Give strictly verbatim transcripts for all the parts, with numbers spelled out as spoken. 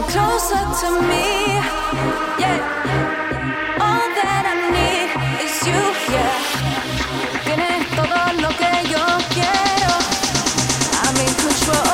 closer to me, yeah. All that I need is you, yeah. Tienes todo lo que yo quiero. I'm in control.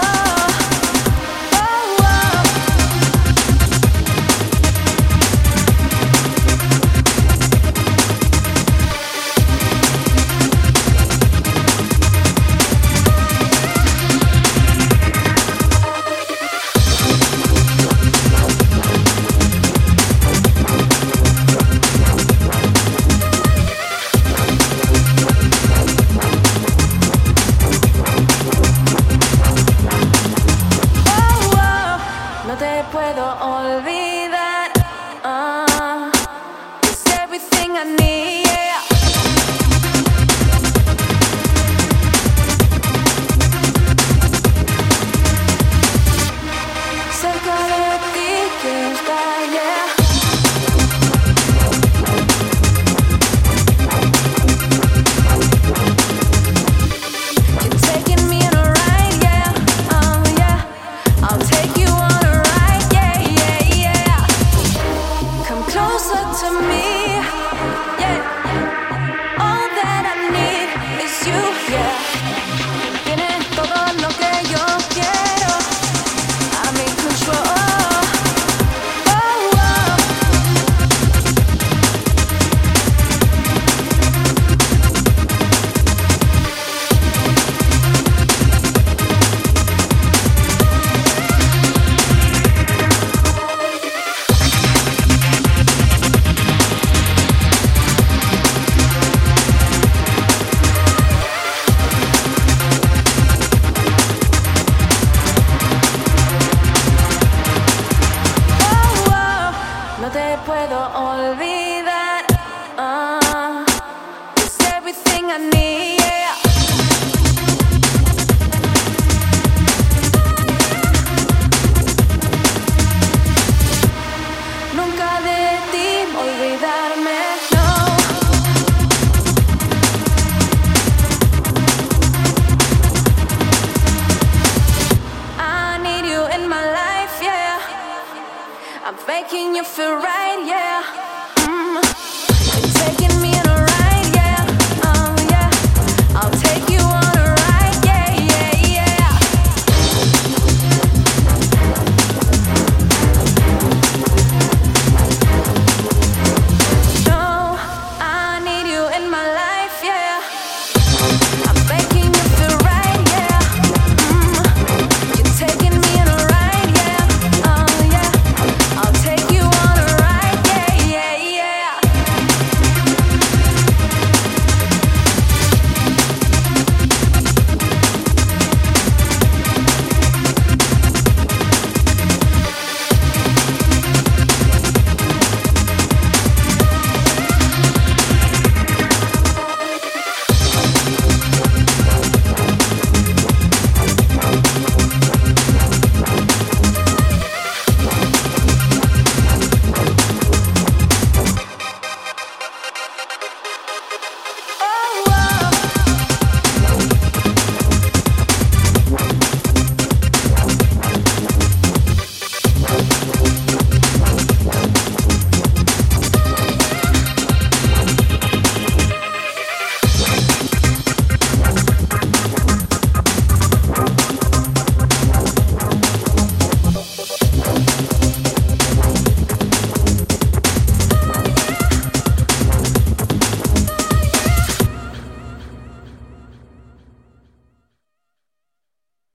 No te puedo olvidar. Uh, it's everything I need, yeah. Cerca de ti quiero estar, yeah. You're taking me on a ride, yeah. Oh, yeah. I'll take you on a ride, yeah, yeah, yeah. Come closer to me, yeah. All that I need is you, yeah. Tienes todo lo que yo quiero. I'm in control. Oh, oh. Oh, oh. No te puedo olvidar. Uh, it's everything I need, yeah. Nunca de ti olvidarme, no. I need you in my life, yeah. I'm making you feel right, yeah. Mm. You're taking